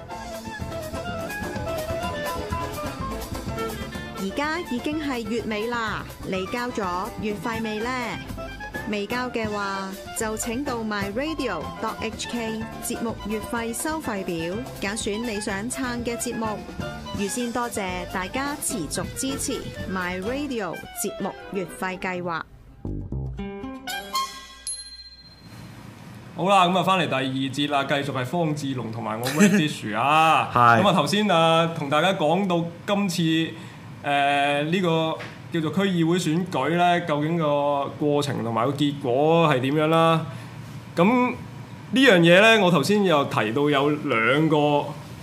而家已經係月尾啦，你交咗月費未呢？未交嘅話，就請到 myradio.hk 節目月費收費表，揀選你想撐嘅節目。預先多謝大家持續支持 myradio 節目月費計劃。 好啦，咁啊翻嚟第二節啦，繼續係方志龍同埋我 Wendy 啊。 係。 咁啊頭先同大家講到今次呢個叫做區議會選舉咧，究竟個過程同埋個結果係點樣啦？咁呢樣嘢咧，我頭先又提到有兩個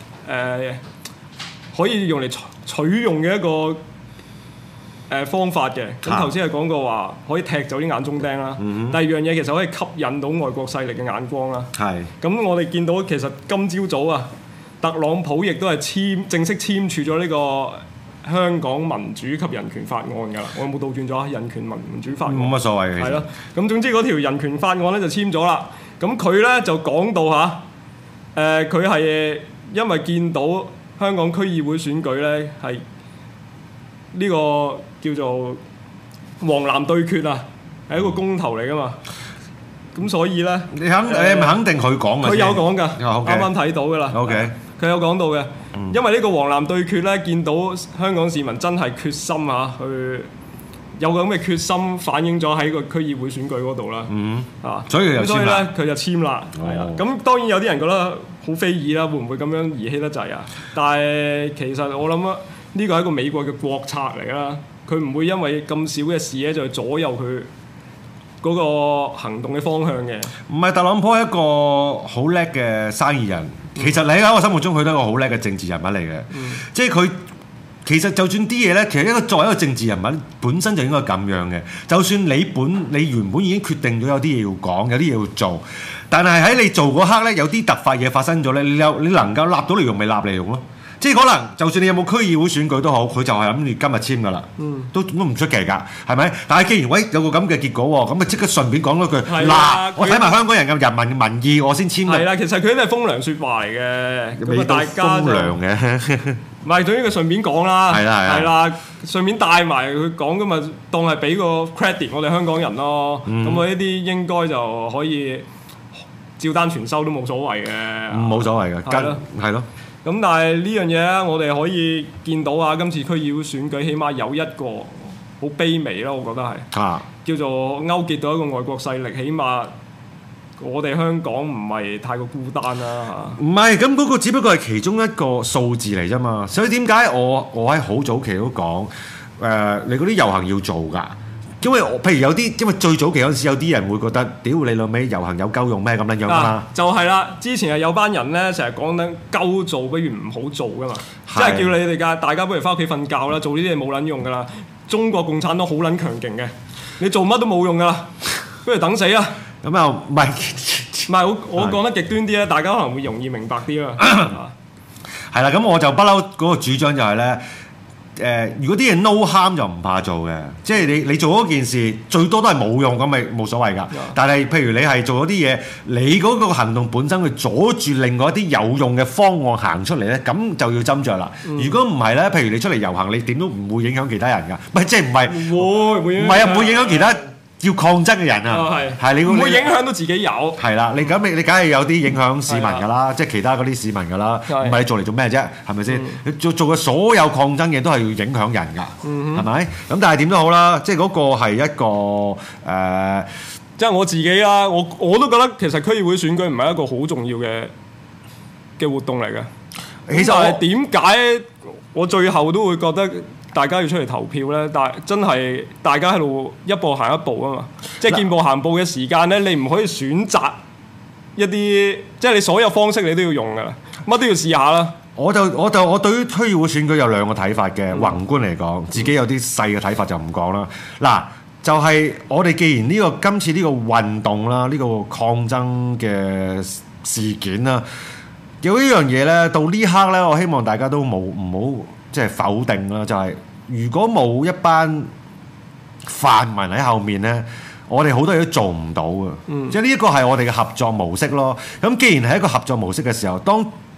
可以用嚟取用嘅一個方法嘅。咁頭先係講過話可以踢走啲眼中釘啦。第二樣嘢其實可以吸引到外國勢力嘅眼光啦。係。咁我哋見到其實今朝早啊，特朗普亦都係正式簽署咗呢個香港民主及人權法案㗎啦。我有冇倒轉咗啊？人權民主法案冇乜所謂嘅。 係咯。咁總之嗰條人權法案咧就簽咗啦。咁佢咧就講到佢係因為見到香港區議會選舉咧係呢個叫做黃藍對決啊，係一個公投嚟㗎嘛。咁所以咧， 你係咪肯定佢講嘅？ 佢有講㗎，啱啱睇到㗎啦。 OK， 佢有講到嘅，因為呢個黃藍對決咧，見到香港市民真係決心去有咁嘅決心，反映咗喺個區議會選舉嗰度啦。 所以咧佢就簽啦。係啊，咁當然有啲人覺得好非議啦，會唔會咁樣兒戲得滯啊？但係其實我諗呢個係一個美國嘅國策嚟啦，佢唔會因為咁少嘅事咧就左右佢嗰個行動嘅方向嘅。 唔係，特朗普係一個好叻嘅生意人，其實你喺我心目中佢都係一個好叻嘅政治人物嚟嘅。即係佢其實就算啲嘢咧，其實作為一個政治人物本身就應該咁樣嘅。就算你原本已經決定咗有啲嘢要講，有啲嘢要做，但係喺你做嗰刻咧，有啲突發嘢發生咗咧，你能夠立到嚟用咪立嚟用咯。即係可能，就算你有冇區議會選舉都好，佢就係諗住今日簽㗎啦，都唔出奇㗎，係咪？但係既然有個咁嘅結果喎，咁咪即刻順便講多句嗱，我睇埋香港人嘅人民嘅民意，我先簽㗎。 係啦，其實佢都係風涼説話嚟嘅，咁大家風涼嘅， 唔係，總之佢順便講啦， 係啦，順便帶埋佢講咁咪當係俾個 credit 我哋香港人咯。咁我呢啲應該就可以照單全收都冇所謂嘅， 冇所謂嘅，係咯。 咁但係呢樣嘢咧，我哋可以見到今次區議會選舉，起碼有一個好卑微啦，我覺得係叫做勾結到一個外國勢力，起碼我哋香港唔係太過孤單啦嚇。 唔係，咁嗰個只不過係其中一個數字嚟啫嘛。所以點解我喺好早期都講你嗰啲遊行要做㗎？因為譬如有啲，因為最早期嗰陣時有啲人會覺得，屌你老味遊行有鳩用咩咁樣樣嘛？ 就係啦，之前係有班人咧成日講緊鳩做，不如唔好做噶嘛，即係叫你哋㗎，大家不如翻屋企瞓覺啦，做呢啲嘢冇撚用㗎啦。中國共產黨好撚強勁嘅，你做乜都冇用㗎啦，不如等死啦。 咁又唔係我講得極端啲咧，大家可能會容易明白啲啦。 係啦，咁我就不嬲嗰個主張就係咧。如果啲嘢 no harm 就唔怕做嘅，即係你做嗰件事最多都係冇用咁咪冇所謂㗎。但係譬如你係做咗啲嘢，你嗰個行動本身去阻住另外一啲有用嘅方案行出嚟咧，咁就要斟酌啦。如果唔係咧，譬如你出嚟遊行，你點都唔會影響其他人㗎。唔係即係唔係唔係啊？唔會影響其他要抗爭嘅人啊，係你唔會影響到自己有。 係啦，你梗係有啲影響市民㗎啦，即係其他嗰啲市民㗎啦，唔係你做嚟做咩啫？係咪先？你做嘅所有抗爭嘅都係要影響人㗎，係咪？咁但係點都好啦，即係嗰個係一個即係我自己啦，我都覺得其實區議會選舉唔係一個好重要嘅活動嚟嘅。其實係點解我最後都會覺得大家要出嚟投票咧？但係真係大家喺度一步行一步啊嘛，即係見步行步嘅時間咧，你唔可以選擇一啲，即係你所有方式你都要用噶啦，乜都要試下啦。 我對於區議會選舉有兩個睇法嘅，宏觀嚟講，自己有啲細嘅睇法就唔講啦。嗱，就係我哋既然今次呢個運動啦，呢個抗爭嘅事件啦，有呢樣嘢咧，到呢刻咧，我希望大家都唔好即係否定啦。就係如果冇一班泛民喺後面咧，我哋好多嘢都做唔到嘅。即係呢一個係我哋嘅合作模式咯。咁既然係一個合作模式嘅時候，當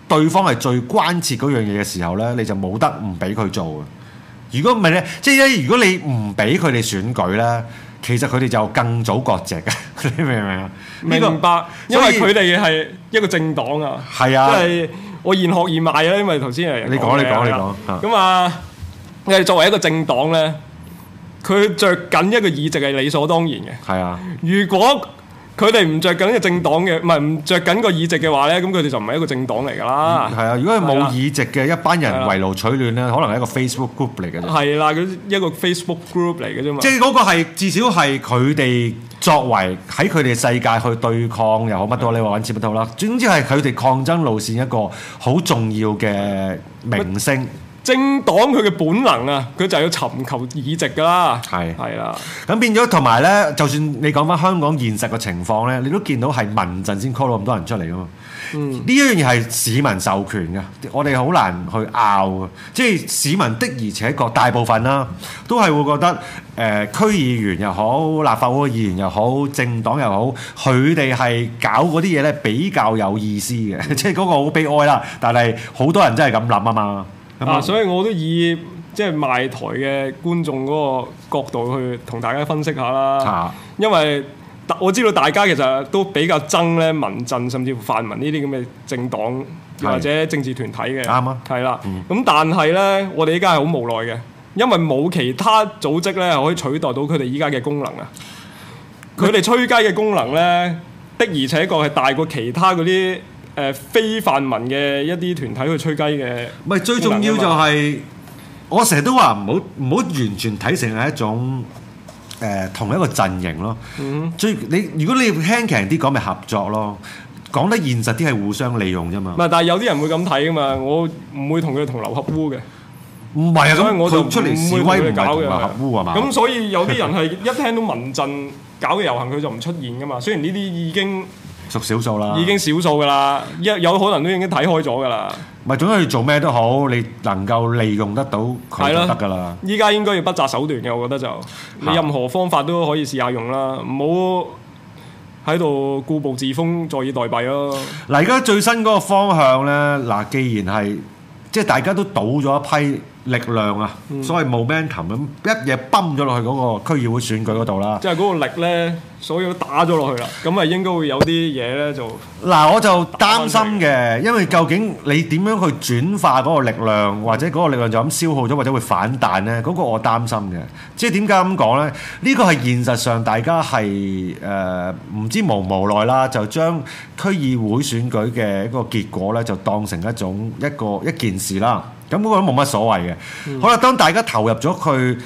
對方係最關切嗰樣嘢嘅時候咧，你就冇得唔俾佢做嘅。如果唔係咧，即係如果你唔俾佢哋選舉咧，其實佢哋就更早割席嘅，你明唔明啊？ 明白，因為佢哋係一個政黨啊。 係啊， 即係我現學現賣啊，因為頭先係你講。 咁啊，我哋作為一個政黨咧，佢着緊一個議席係理所當然嘅。 係啊， 如果佢哋唔着緊個政黨嘅，唔係唔著緊個議席嘅話咧，咁佢哋就唔係一個政黨嚟㗎啦。 係啊，如果係冇議席嘅一班人圍爐取暖咧，可能係一個 Facebook group 嚟嘅啫。係啦，佢一個 Facebook group 嚟嘅啫嘛。 即係嗰個係至少係佢哋作為喺佢哋世界去對抗又好乜都好，你話揾錢乜都好啦。總之係佢哋抗爭路線一個好重要嘅明星。 政黨佢嘅本能啊，佢就係要尋求議席㗎啦。係啦。 咁變咗同埋咧，就算你講翻香港現實嘅情況咧，你都見到係民陣先 call 到咁多人出嚟㗎嘛。呢一樣嘢係市民授權嘅，我哋好難去拗嘅。即係市民的而且確大部分啦，都係會覺得區議員又好，立法會議員又好，政黨又好，佢哋係搞嗰啲嘢咧比較有意思嘅。即係嗰個好悲哀啦，但係好多人真係咁諗啊嘛。 所以我都以即係賣台嘅觀眾嗰個角度去同大家分析下啦。因為我知道大家其實都比較憎咧民陣甚至乎泛民呢啲咁嘅政黨或者政治團體嘅。啱啊。係啦。咁但係咧，我哋依家係好無奈嘅，因為冇其他組織咧可以取代到佢哋依家嘅功能啊。佢哋吹雞嘅功能咧，的而且確係大過其他嗰啲非泛民嘅一啲團體去吹雞嘅。唔係最重要就係， 我成日都話唔好完全睇成係一種同一個陣營咯。如果你輕鬆啲講，咪合作咯。講得現實啲係互相利用啫嘛。 唔係，但係有啲人會咁睇噶嘛。我唔會同佢同流合污嘅。 唔係啊，咁我就出嚟示威唔係同流合污係嘛？ 咁所以有啲人係一聽到民陣搞嘅遊行，佢就唔出現噶嘛。雖然呢啲已經屬少數啦， 已經少數噶啦，有可能都已經睇開咗噶啦。 唔係，總之你做咩都好，你能夠利用得到佢就得噶啦。 依家應該要不擇手段嘅，我覺得就你任何方法都可以試下用啦，唔好喺度固步自封，坐以待斃咯。 嗱，而家最新嗰個方向咧，嗱，既然係即係大家都倒咗一批力量啊，所謂 momentum 咁一嘢泵咗落去嗰個區議會選舉嗰度啦。即係嗰個力咧，所有都打咗落去啦，咁啊應該會有啲嘢咧就嗱，我就擔心嘅，因為究竟你點樣去轉化嗰個力量，或者嗰個力量就咁消耗咗，或者會反彈咧？嗰個我擔心嘅。即係點解咁講咧？呢個係現實上大家係唔知無奈啦，就將區議會選舉嘅一個結果咧，就當成一件事啦。咁嗰個都冇乜所謂嘅。好啦，當大家投入咗佢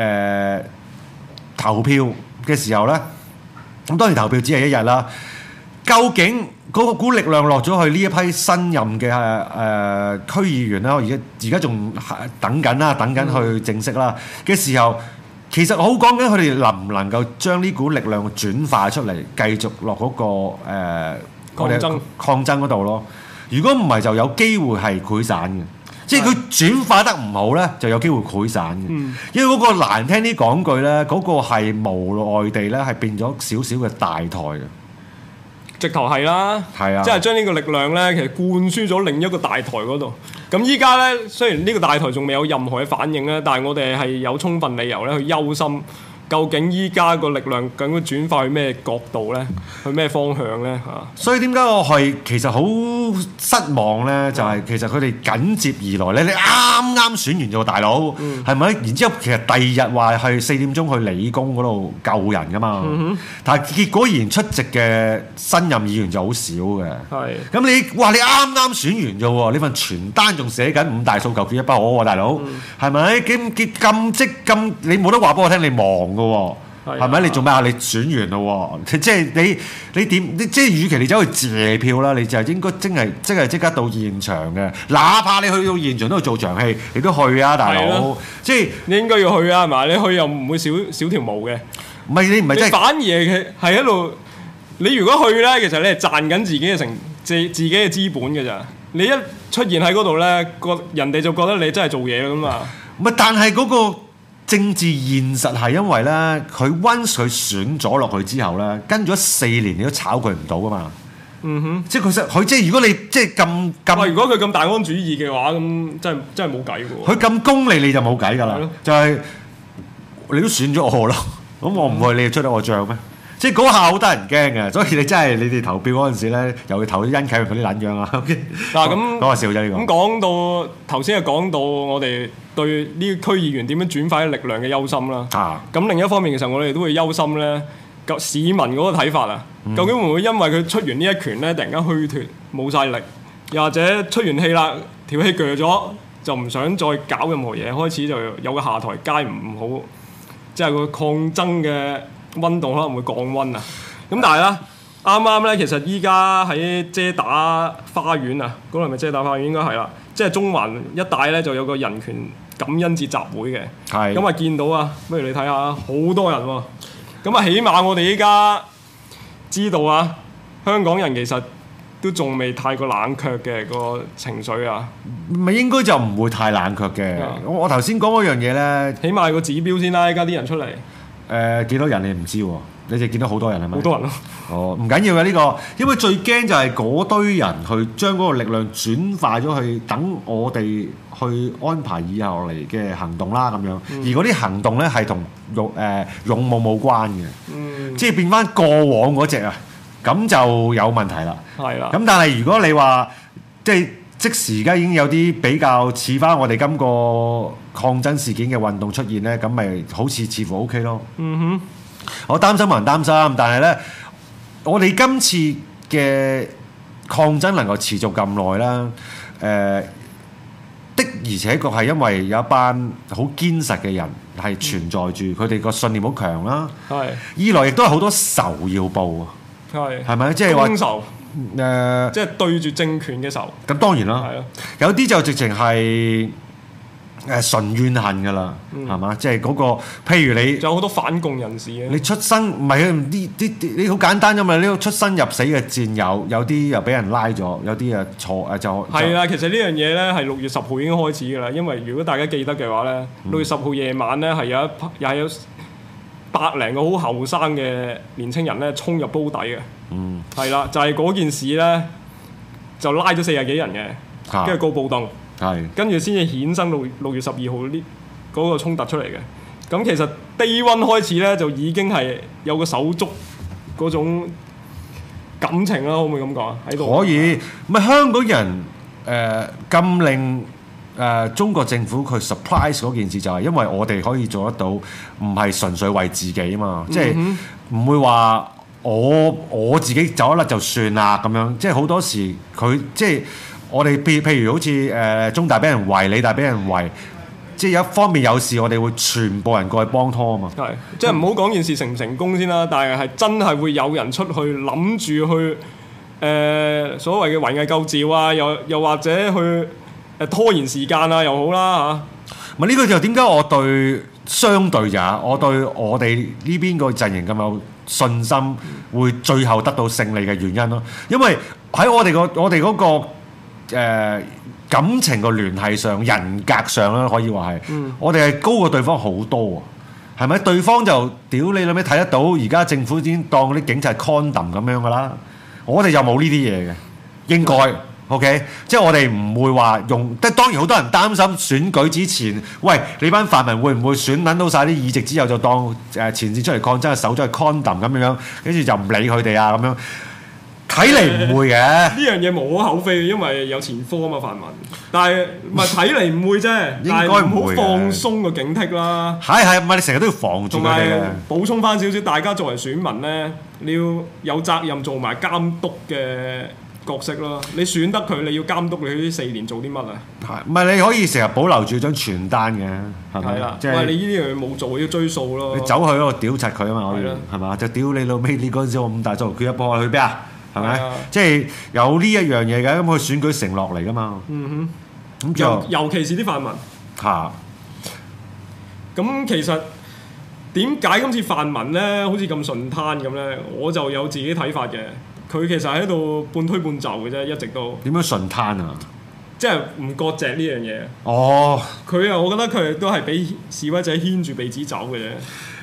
投票嘅時候咧，咁當然投票只係一日啦。究竟嗰股力量落咗去呢一批新任嘅區議員啦，而家仲等緊啦，等緊去正式啦嘅時候，其實好講緊佢哋能唔能夠將呢股力量轉化出嚟，繼續落嗰個抗爭嗰度咯。如果唔係，就有機會係潰散嘅。即係佢轉化得唔好咧，就有機會潰散嘅。因為嗰個難聽啲講句咧，嗰個係無奈地咧係變咗少少嘅大台嘅，直頭係啦，係啊，即係將呢個力量咧，其實灌輸咗另一個大台嗰度。咁依家咧，雖然呢個大台仲未有任何嘅反應咧，但係我哋係有充分理由咧去憂心。究竟依家個力量究竟轉化去咩角度咧？去咩方向咧？嚇！所以點解我係其實好失望咧？就係其實佢哋緊接而來咧，你啱啱選完咗大佬，係咪？然之後其實第二日話係4點鐘去理工嗰度救人噶嘛，但係結果然出席嘅新任議員就好少嘅。係。咁你話你啱啱選完啫喎，呢份傳單仲寫緊5大訴求缺一不可喎，大佬，係咪？咁你冇得話俾我聽，你忙。係咪？你做咩啊？你選完咯喎，即係你點？即係與其你走去謝票啦，你就應該即刻到現場嘅。哪怕你去到現場都去做場戲，你都去啊，大佬！即係你應該要去啊，係嘛？你去又唔會少條毛嘅。唔係你唔係真係反而係喺度。你如果去咧，其實你係賺緊自己嘅資本嘅咋。你一出現喺嗰度咧，人哋就覺得你真係做嘢啦嘛。唔係，但係嗰個政治現實係因為咧，佢once佢選咗落去之後咧，跟咗4年你都炒佢唔到噶嘛。 即係佢即係如果你即係咁， 如果佢咁大安主義嘅話，咁真係冇計嘅喎。 佢咁功利你就冇計㗎啦，就係你都選咗我咯，咁我唔去你出得我帳咩？即係嗰下好得人驚嘅，所以你真係你哋投票嗰陣時咧，又要投殷啟榮嗰啲撚樣啊！ 嗱咁講下笑啫呢個。 咁講到頭先係講到我哋對呢個區議員點樣轉化啲力量嘅憂心啦。咁另一方面其實我哋都會憂心咧，市民嗰個睇法啊，究竟會唔會因為佢出完呢一拳咧，突然間虛脱冇晒力，又或者出完氣啦，條氣鋸咗，就唔想再搞任何嘢，開始就有個下台階唔好，即係個抗爭嘅溫度可能會降溫啊！咁但係咧，啱啱咧，其實依家喺遮打花園啊，嗰度係咪遮打花園？應該係啦，即係中環一帶咧就有個人權感恩節集會嘅。係。咁啊見到啊，不如你睇下，好多人喎。咁啊，起碼我哋依家知道啊，香港人其實都仲未太過冷卻嘅個情緒啊。 咪應該就唔會太冷卻嘅。我頭先講嗰樣嘢咧， 起碼個指標先啦。依家啲人出嚟。 幾多人你唔知喎？你哋見到好多人係咪？ 好多人咯。 哦，唔緊要嘅呢個，因為最驚就係嗰堆人去將嗰個力量轉化咗去等我哋去安排以後嚟嘅行動啦咁樣。而嗰啲行動咧係同勇武冇關嘅，即係變翻過往嗰隻啊，咁就有問題啦。係啦。咁但係如果你話即時而家已經有啲比較似翻我哋今個抗爭事件嘅運動出現咧，咁咪好似乎 OK 咯。我擔心冇人擔心，但係咧，我哋今次嘅抗爭能夠持續咁耐啦，的而且確係因為有一班好堅實嘅人係存在住，佢哋個信念好強啦。係。二來亦都係好多仇要報啊。係咪？即係話。 即係對住政權嘅仇。 咁當然啦。係咯。有啲就直情係純怨恨㗎啦，係嘛？即係嗰個，譬如你仲有好多反共人士嘅。 你出生唔係你好簡單啫嘛！呢個出生入死嘅戰友，有啲又俾人拉咗，有啲就係啦。其實呢樣嘢咧係6月10號已經開始㗎啦。因為如果大家記得嘅話咧，6月10號夜晚咧係又係有100零個好後生嘅年青人咧衝入煲底嘅。係啦，就係嗰件事咧，就拉咗40幾人嘅，跟住告暴動，跟住先至衍生到6月12號呢嗰個衝突出嚟嘅。咁其實 Day One 開始咧就已經係有個手足嗰種感情啦，可唔可以咁講啊？喺度可以， 咪香港人禁令中國政府佢 surprise 嗰件事就係因為我哋可以做得到，唔係純粹為自己嘛，即係唔會話。我自己走一甩就算啦咁樣，即係好多時佢即係我哋譬如好似中大俾人圍，理大俾人圍，即係有一方面有事，我哋會全部人過去幫拖啊嘛。係，即係唔好講件事成唔成功先啦，但係真係會有人出去諗住去所謂嘅圍魏救趙啊，又或者去拖延時間啊又好啦嚇。咪呢個就點解我對相對咋？我對我哋呢邊個陣營咁有信心會最後得到勝利嘅原因咯，因為喺我哋嗰個感情個聯繫上、人格上啦，可以話係，我哋係高過對方好多啊，係咪？對方就屌你諗咩睇得到？而家政府已經當啲警察係 condom 咁樣噶啦，我哋就冇呢啲嘢嘅，應該。OK， 即係我哋唔會話用，即係當然好多人擔心選舉之前，喂你班泛民會唔會選撚到晒啲議席之後就當前線出嚟抗爭嘅手咗係 condom 咁樣，跟住就唔理佢哋啊咁樣，睇嚟唔會嘅。呢樣嘢無可厚非，因為有前科啊嘛泛民，但係唔係睇嚟唔會啫，應該唔好放鬆個警惕啦。係唔係你成日都要防住佢哋嘅？補充翻少少，大家作為選民咧，你要有責任做埋監督嘅角色咯，你選得佢，你要監督你呢4年做啲乜啊？係，唔係你可以成日保留住張傳單嘅，係咪？係啦，即係你呢啲樣冇做，要追數咯。你走去嗰度屌柒佢啊嘛，可以係嘛？就屌你老尾！你嗰陣時我5大作決一波去邊啊？係咪？即係有呢一樣嘢嘅，咁佢選舉承諾嚟噶嘛。咁就尤其是啲泛民嚇。咁其實點解今次泛民咧好似咁順攤咁咧？我就有自己睇法嘅。佢其實喺度半推半就嘅啫，一直都點樣順攤啊？即係唔割席呢樣嘢。哦，佢啊，我覺得佢都係俾示威者牽住鼻子走嘅啫。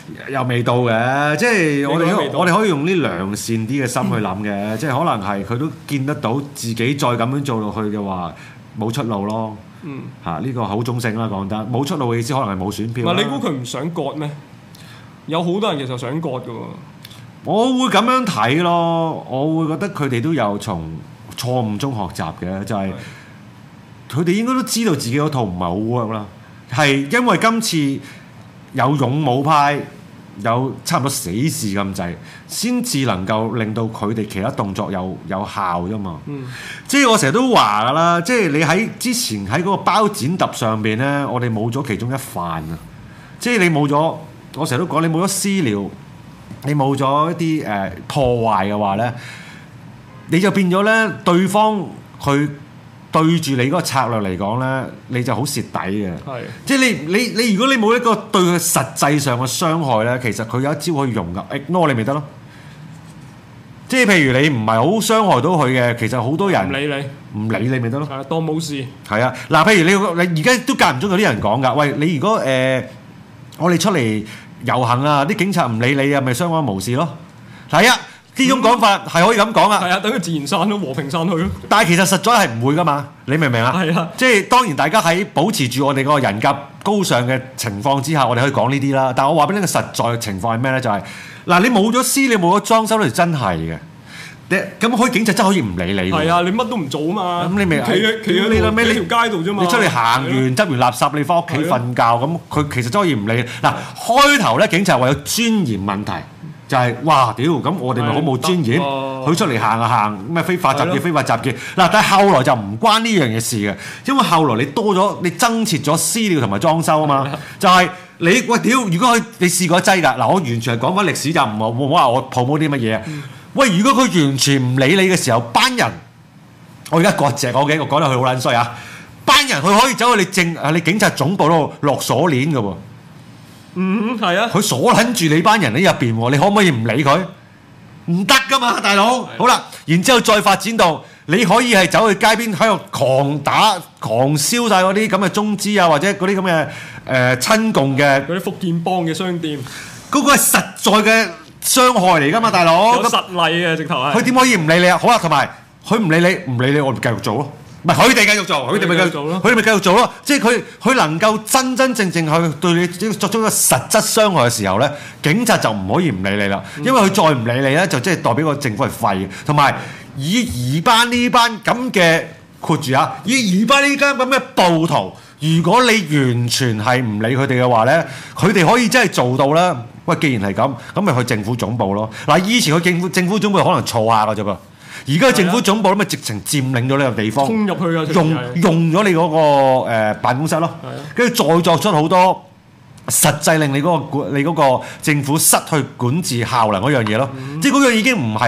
又未到嘅，即係我你覺得未到哋可以用呢良善啲嘅心去諗嘅，即係可能係佢都見得到自己再咁樣做落去嘅話冇出路咯。呢個好中性啦，講得冇出路嘅意思可能係冇選票啦。 你估佢唔想割咩？有好多人其實想割㗎喎。 我會咁樣睇咯，我會覺得佢哋都有從錯誤中學習嘅，就係佢哋應該都知道自己嗰套唔係好 work 啦，係因為今次有勇武派有差唔多死士咁滯，先至能夠令到佢哋其他動作有效啫嘛。即係我成日都話㗎啦，即係你喺之前喺嗰個包剪揼上邊咧，我哋冇咗其中一範啊！即係你冇咗，我成日都講你冇咗私了。你冇咗一啲破壞嘅話咧，你就變咗咧對方佢對住你嗰個策略嚟講咧，你就好蝕底嘅。係，即係你如果你冇一個對佢實際上嘅傷害咧，其實佢有一招可以用㗎，ignore 你咪得咯。即係譬如你唔係好傷害到佢嘅，其實好多人唔理你咪得咯。 係當冇事。係啊，嗱，譬如你而家都間唔中有啲人講㗎，喂，你如果我哋出嚟遊行啊！啲警察唔理你啊，咪相安無事咯。係啊，呢種講法係可以咁講啊。 係啊，等佢自然散咯，和平散去咯。 但係其實實在係唔會噶嘛，你明唔明啊？係啊，即係當然大家喺保持住我哋個人格高尚嘅情況之下，我哋可以講呢啲啦。但係我話俾你個實在嘅情況係咩咧？就係嗱，你冇咗私，你冇咗裝修咧，真係嘅。咁可以警察真係可以唔理你。 係啊，你乜都唔做啊嘛。咁你咪企喺條街度啫嘛。 你出嚟行完執完垃圾，你翻屋企瞓覺，咁佢其實真係可以唔理。嗱，開頭咧警察話有尊嚴問題，就係哇屌，咁我哋咪好冇尊嚴。佢出嚟行啊行，咩非法集結非法集結。嗱，但係後來就唔關呢樣嘢事嘅，因為後來你多咗你增設咗私了同埋裝修啊嘛，就係你喂屌，如果你試過一劑㗎，嗱，我完全係講翻歷史就唔好話我 promote啲乜嘢。喂，如果佢完全唔理你嘅時候，班人，我而家割席我嘅，我講得佢好撚衰啊！班人佢可以走去你警察總部度落鎖鏈嘅喎。 係啊。 佢鎖撚住你班人喺入邊喎，你可唔可以唔理佢？唔得噶嘛，大佬。好啦，然之後再發展到你可以係走去街邊喺度狂打、狂燒晒嗰啲咁嘅中資啊，或者嗰啲咁嘅親共嘅嗰啲福建幫嘅商店， 嗰個係實在嘅傷害嚟㗎嘛，大佬。 有實例嘅直頭係。 佢點可以唔理你啊？好啦，同埋佢唔理你，我哋繼續做咯。唔係佢哋繼續做，佢哋咪繼續做咯。佢哋咪繼續做咯。即係佢能夠真真正正去對你作出一個實質傷害嘅時候咧，警察就唔可以唔理你啦。因為佢再唔理你咧，就即係代表個政府係廢嘅。同埋以班呢班咁嘅括住啊，以班呢間咁嘅暴徒，如果你完全係唔理佢哋嘅話咧，佢哋可以真係做到啦。喂，既然係咁，咁咪去政府總部咯。嗱，以前去政府總部可能嘈下㗎啫噃，而家政府總部咧咪直情佔領咗呢個地方， 衝入去啊！ 用咗你嗰個辦公室咯，跟住再作出好多實際令你嗰個政府失去管治效能嗰樣嘢咯。即係嗰樣已經唔係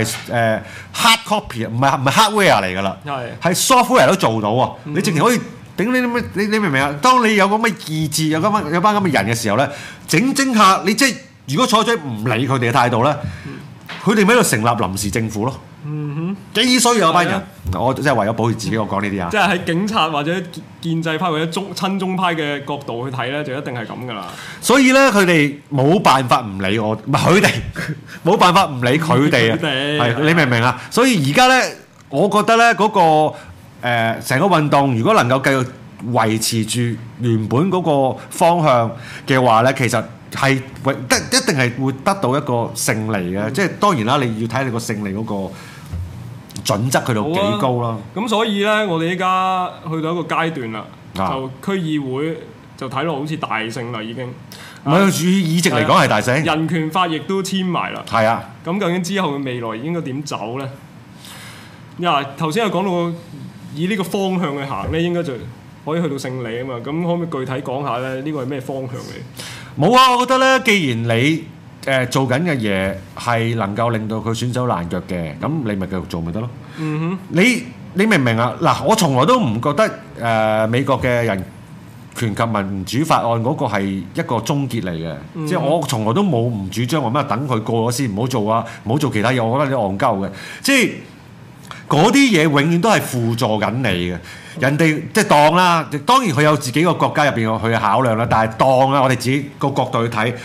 hard copy，唔係 hardware 嚟㗎啦，係 software 都做到喎。你直情可以頂你明唔明啊？當你有咁嘅意志，有班咁嘅人嘅時候咧，整下你即係。如果採取唔理佢哋嘅態度咧，佢哋咪喺度成立臨時政府咯。幾衰有班人，我真係為咗保護自己，我講呢啲啊。 即係喺警察或者建制派或者親中派嘅角度去睇咧，就一定係咁噶啦。 所以咧，佢哋冇辦法唔理我，唔係佢哋冇辦法唔理佢哋啊。係你明唔明啊？所以而家咧，我覺得咧嗰個成個運動，如果能夠繼續維持住原本嗰個方向嘅話咧，其實係一定係會得到一個勝利嘅。即係當然啦，你要睇你個勝利嗰個準則去到幾高啦。 咁所以咧，我哋依家去到一個階段啦，就區議會就睇落好似大勝啦已經。 唔係議席嚟講係大勝。 人權法亦都簽埋啦。 係啊。 咁究竟之後嘅未來應該點走咧？頭先有講到以呢個方向去行咧，應該就可以去到勝利啊嘛。咁可唔可以具體講下咧？呢個係咩方向嚟？ 冇啊！我覺得咧，既然你做緊嘅嘢係能夠令到佢損手爛腳嘅，咁你咪繼續做咪得咯。你明唔明啊？嗱，我從來都唔覺得美國嘅人權及民主法案嗰個係一個終結嚟嘅。即係我從來都冇唔主張話咩等佢過咗先，唔好做啊，唔好做其他嘢。我覺得你戇鳩嘅，即係嗰啲嘢永遠都係輔助緊你嘅。人哋即係當啦，當然佢有自己個國家入邊去考量啦。但係當啦，我哋自己個角度去睇，當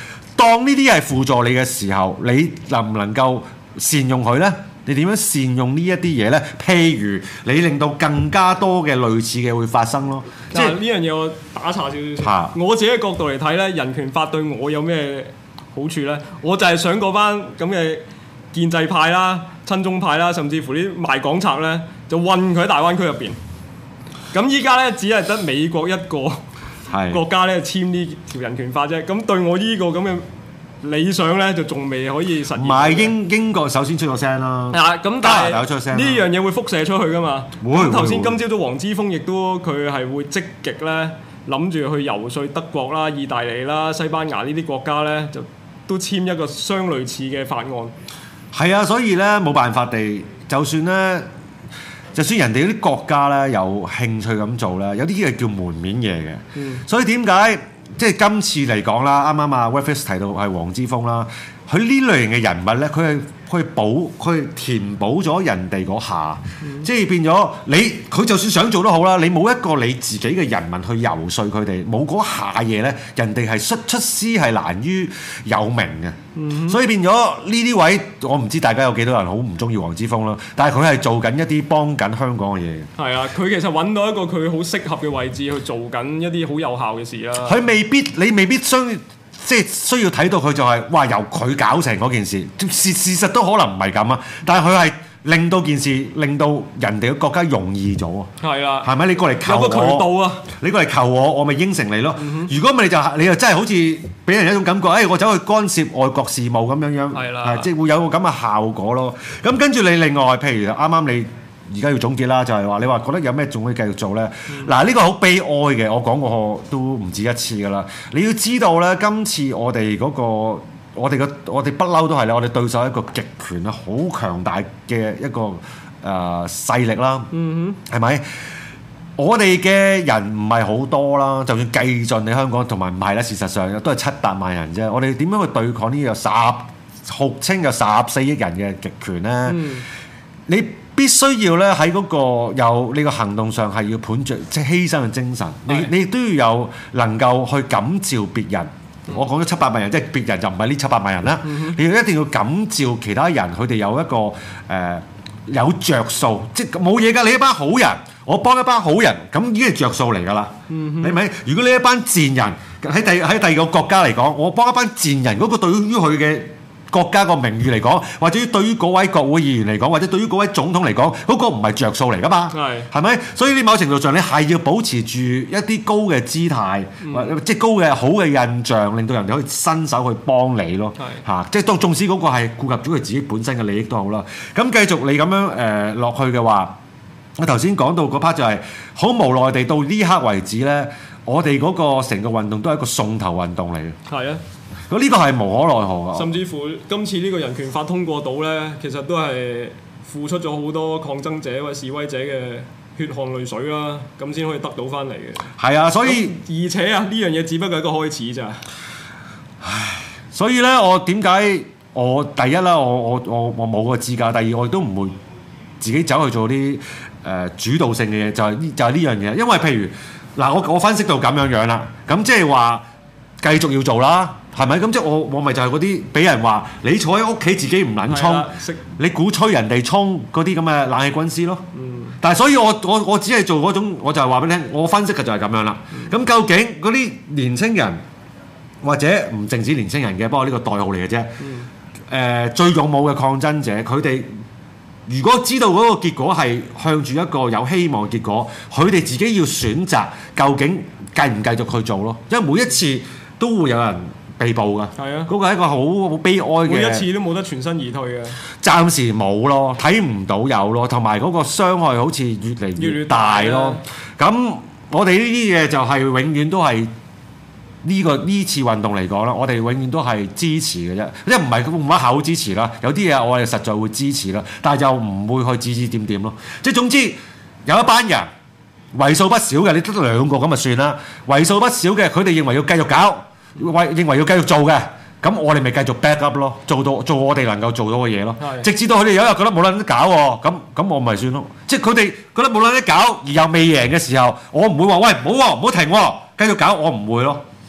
當呢啲係輔助你嘅時候，你能唔能夠善用佢呢？你點樣善用呢一啲嘢呢？譬如你令到更加多嘅類似嘅會發生咯。 即係呢樣嘢我打岔少少。我自己嘅角度嚟睇呢，人權法對我有咩好處呢？我就係想嗰班咁嘅建制派啦、親中派啦，甚至乎啲賣港賊呢，就韞佢喺大灣區入邊。咁依家呢，只係得美國一個國家呢簽呢條人權法啫。咁對我呢個咁嘅理想咧就仲未可以實現。唔係英國首先出咗聲啦。 係啊，咁但係呢樣嘢會輻射出去噶嘛？會。頭先今朝早黃之鋒亦都佢係會積極咧諗住去游說德國啦、意大利啦、西班牙呢啲國家咧，就都簽一個相類似嘅法案。 係啊，所以咧冇辦法地，就算人哋嗰啲國家咧有興趣咁做咧，有啲嘢叫門面嘢嘅。所以點解？即係今次嚟講啦，啱啱啊 Webfest 提到係黃之鋒啦，佢呢類型嘅人物咧，佢係填補咗人哋嗰下，即係變咗佢就算想做都好啦，你冇一個你自己嘅人民去游說佢哋，冇嗰下嘢咧，人哋係出師係難於有名嘅，所以變咗呢啲位，我唔知大家有幾多人好唔中意黃之鋒啦，但係佢係做緊一啲幫緊香港嘅嘢。係啊，佢其實揾到一個佢好適合嘅位置去做緊一啲好有效嘅事啦。 你未必即係需要睇到佢就係哇由佢搞成嗰件事，事實都可能唔係咁啊！但係佢係令到件事令到人哋嘅國家容易咗啊！ 係啊， 係咪你過嚟求我？有個渠道啊！你過嚟求我，我咪應承你咯。如果唔係你就真係好似俾人一種感覺，我走去干涉外國事務咁樣。係啦，即係會有個咁嘅效果咯。咁跟住你另外，譬如啱啱你而家要總結啦，就係話你話覺得有咩仲可以繼續做咧？嗱，呢個好悲哀嘅，我講過都唔止一次噶啦。你要知道咧，今次我哋嗰個我哋不嬲都係咧，我哋對手一個極權啊，好強大嘅一個勢力啦。係咪？我哋嘅人唔係好多啦，就算計盡你香港，同埋唔係啦，事實上都係700萬人啫。我哋點樣去對抗呢個號稱有14億人嘅極權咧？你必須要咧喺嗰個有呢個行動上係要盤著即係犧牲嘅精神，你都要有能夠去感召別人。我講咗700萬人，即係別人就唔係呢700萬人啦。你要一定要感召其他人，佢哋有一個有着數，即係冇嘢㗎。你一班好人，我幫一班好人，咁已經係着數嚟㗎啦。係咪？如果你一班賤人喺第二個國家嚟講，我幫一班賤人，嗰個對於佢嘅國家個名譽嚟講，或者對於嗰位國會議員嚟講，或者對於嗰位總統嚟講，嗰個唔係着數嚟㗎嘛？係咪？所以呢某程度上，你係要保持住一啲高嘅姿態，即係高嘅好嘅印象，令到人哋可以伸手去幫你咯。嚇，即係當縱使嗰個係顧及咗佢自己本身嘅利益都好啦。咁繼續你咁樣落去嘅話，我頭先講到嗰 part 就係好無奈地到呢刻為止咧，我哋嗰個成個運動都係一個送頭運動嚟嘅。係啊。咁呢個係無可奈何啊！ 甚至乎今次呢個人權法通過到呢，其實都係付出咗好多抗爭者或者示威者嘅血汗淚水啦，咁先可以得到翻嚟嘅。係啊，所以而且啊，呢樣嘢只不過係一個開始咋。 唉，所以呢，我點解我第一啦，我冇個資格；第二，我亦都唔會自己走去做啲主導性嘅嘢，就係呢樣嘢。因為譬如嗱，我分析到咁樣啦，咁即係話繼續要做啦。係咪咁？即係我咪就係嗰啲俾人話你坐喺屋企自己唔撚衝，你鼓吹人哋衝嗰啲咁嘅冷氣軍師咯。但係所以我只係做嗰種，我就係話俾你聽，我分析嘅就係咁樣啦。咁究竟嗰啲年青人或者唔淨止年青人嘅，不過呢個代號嚟嘅啫。最勇武嘅抗爭者，佢哋如果知道嗰個結果係向住一個有希望嘅結果，佢哋自己要選擇究竟繼唔繼續去做咯。因為每一次都會有人被捕㗎，係啊，嗰個係一個好悲哀嘅， 每一次都冇得全身而退嘅， 暫時冇咯，睇唔到有咯，同埋嗰個傷害好似越嚟越大咯。咁我哋呢啲嘢就係永遠都係呢次運動嚟講啦，我哋永遠都係支持嘅啫，即係唔係冇乜口支持啦，有啲嘢我哋實在會支持啦，但係就唔會去指指點點咯。即係總之有一班人為數不少嘅，你得2個咁就算啦，為數不少嘅，佢哋認為要繼續搞。認為要繼續做嘅，咁我哋咪繼續 back up 咯，做我哋能夠做到嘅嘢咯。直至到佢哋有一日覺得冇撚得搞喎，咁我咪算咯。即係佢哋覺得冇撚得搞而又未贏嘅時候，我唔會話喂唔好喎，唔好停喎，繼續搞，我唔會咯。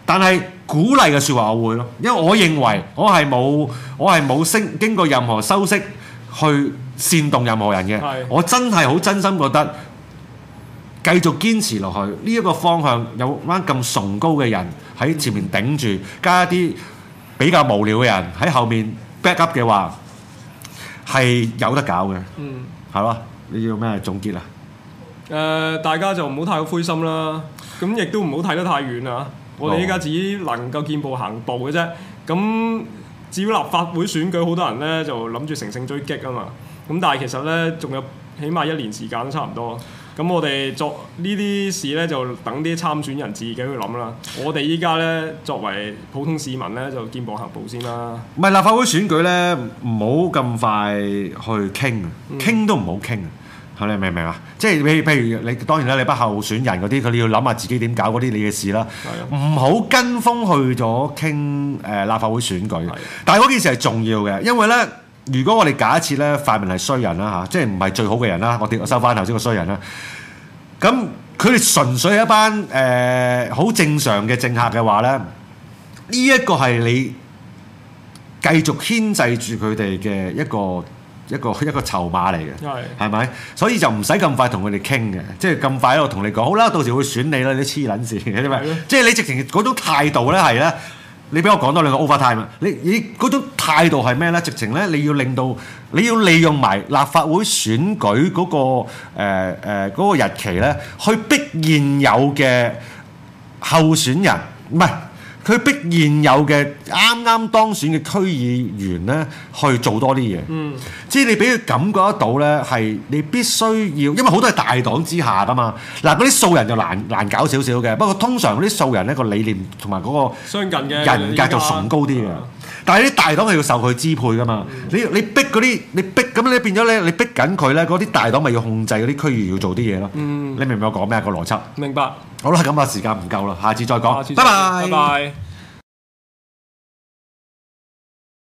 但係鼓勵嘅説話我會咯，因為我認為我係冇經過任何修飾去煽動任何人嘅。我真係好真心覺得繼續堅持落去呢一個方向，有班咁崇高嘅人喺前面頂住，加一啲比較無聊嘅人喺後面 back up 嘅話，係有得搞嘅。係咯，你要咩總結啊？ 大家就唔好太灰心啦，咁亦都唔好睇得太遠啊！我哋依家只能夠見步行步嘅啫。咁至於立法會選舉，好多人咧就諗住乘勝追擊啊嘛。咁但係其實咧，仲有起碼1年時間都差唔多。咁我哋作呢啲事咧，就等啲參選人自己去諗啦。我哋依家咧作為普通市民咧，就見步行步先啦。 唔係立法會選舉咧，唔好咁快去傾啊，傾都唔好傾啊！你明唔明啊？即係譬如你當然啦，你不候選人嗰啲，佢哋要諗下自己點搞嗰啲你嘅事啦。唔好跟風去咗傾立法會選舉。但係嗰件事係重要嘅，因為咧，如果我哋假設咧泛民係衰人啦嚇，即係唔係最好嘅人啦，我收翻頭先個衰人啦。咁佢哋純粹係一班好正常嘅政客嘅話咧，呢一個係你繼續牽制住佢哋嘅一個籌碼嚟嘅，係咪？所以就唔使咁快同佢哋傾嘅，即係咁快喺度同你講，好啦，到時會選你啦，你黐撚線嘅啫嘛！即係你直情嗰種態度咧係咧，你俾我講多兩個 overtime 啊！你嗰種態度係咩咧？直情咧你要利用埋立法會選舉嗰個日期咧，去逼現有嘅候選人，唔係。佢逼現有嘅啱啱當選嘅區議員咧，去做多啲嘢。即係你俾佢感覺得到咧，係你必須要，因為好多係大黨之下噶嘛。嗱，嗰啲素人就難搞少少嘅，不過通常嗰啲素人咧個理念同埋嗰個相近嘅人格就崇高啲嘅。但係啲大黨係要受佢支配噶嘛。你逼嗰啲，你逼咁你變咗咧，你逼緊佢咧，嗰啲大黨咪要控制嗰啲區議員要做啲嘢咯。你明唔明我講咩個邏輯？ 明白。 好啦，咁啊時間唔夠啦，下次再講。拜拜。